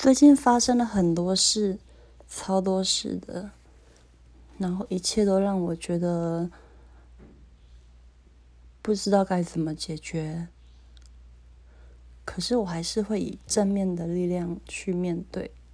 最近发生了很多事，超多事的，然后一切都让我觉得不知道该怎么解决。可是我还是会以正面的力量去面对。